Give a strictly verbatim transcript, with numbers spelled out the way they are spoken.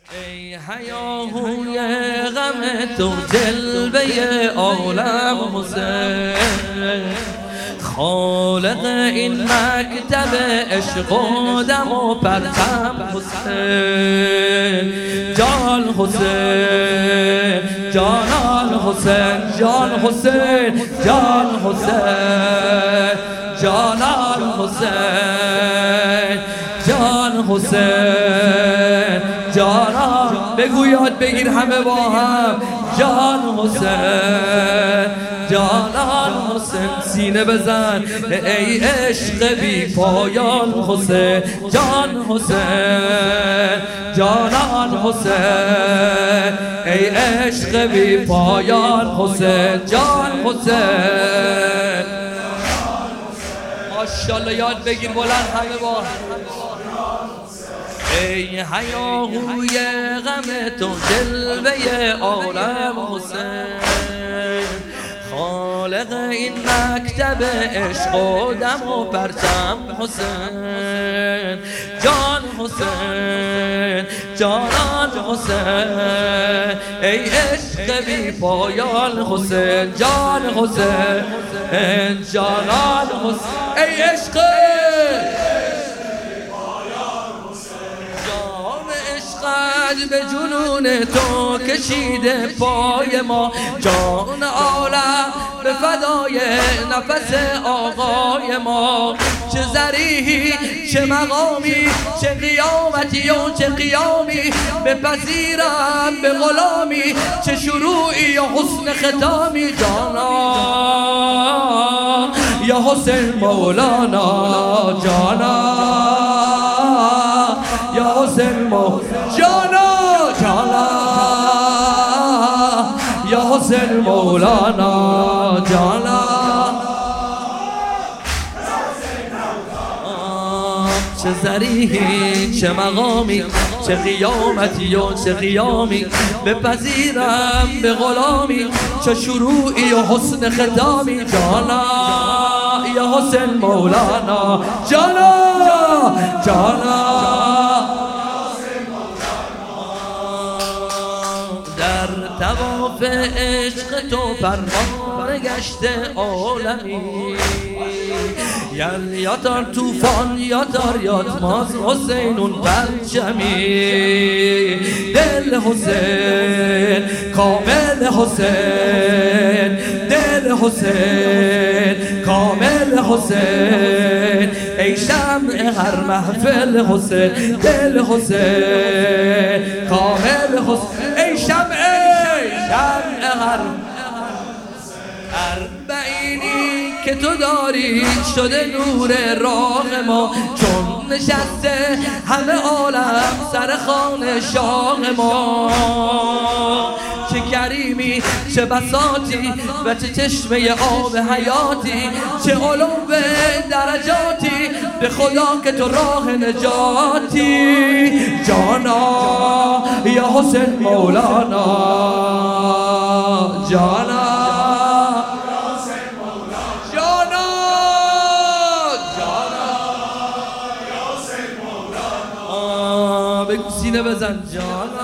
ای هیاهوی غم تو جلوه عالم حسین، خالق این مکتب عشق و دم و پرچم حسین. جان حسین، جانان حسین، جان حسین، جان حسین، جانان حسین، جان حسین، جانان. بگو یاد بگیر همه با هم، جان حسین، جانان حسین. سینه بزن ای عشق بی پایان حسین، جان حسین، جانان حسین، ای عشق بی پایان حسین، جان حسین. ماشاءالله یاد بگیر بلند همه با ای هیاهوی غم تو جلوه عالم حسین، خالق این مکتب عشق و دم و پرچم حسین. جان حسین، جانان حسین، ای عشق بی پایان حسین، جان حسین، جانان حسین، ای عشق به جنون تو کشیده پای ما، جان عالم به فدای نفس آقای ما. چه ذریحی، چه مقامی، چه قیامتی و چه قیامی، بپذیرم به غلامی، چه شروعی و حسن ختامی. جانا یا حسین مولانا، جانا یا حسین مولانا، جانا جانا یا حسین مولانا، جانا. چه ذریحی، چه مقامی، چه قیامتی و چه قیامی، بپذیرم به غلامی، چه شروعی و حسن ختامی. جانا یا حسین مولانا، جانا جانا. در طواف عشق تو پروانه گشته عالمی، یل یا تار توفان یا تار یاتماز حسینون پرچمی. دل حسین، کامل حسین، دل حسین، کامل حسین، ای شمع هر محفل حسین. دل حسین، کامل حسین، ای شمع، شمع هر اربعینی که تو داری شده نور راه ما، چون نشسته همه عالم سر خوان شاه ما. چه کریمی، چه بساطی و چه چشمه آب حیاتی، چه علو درجاتی، به خدا که تو راه نجاتی. جانا یا حسین مولانا، جانا سینه بزن، جانا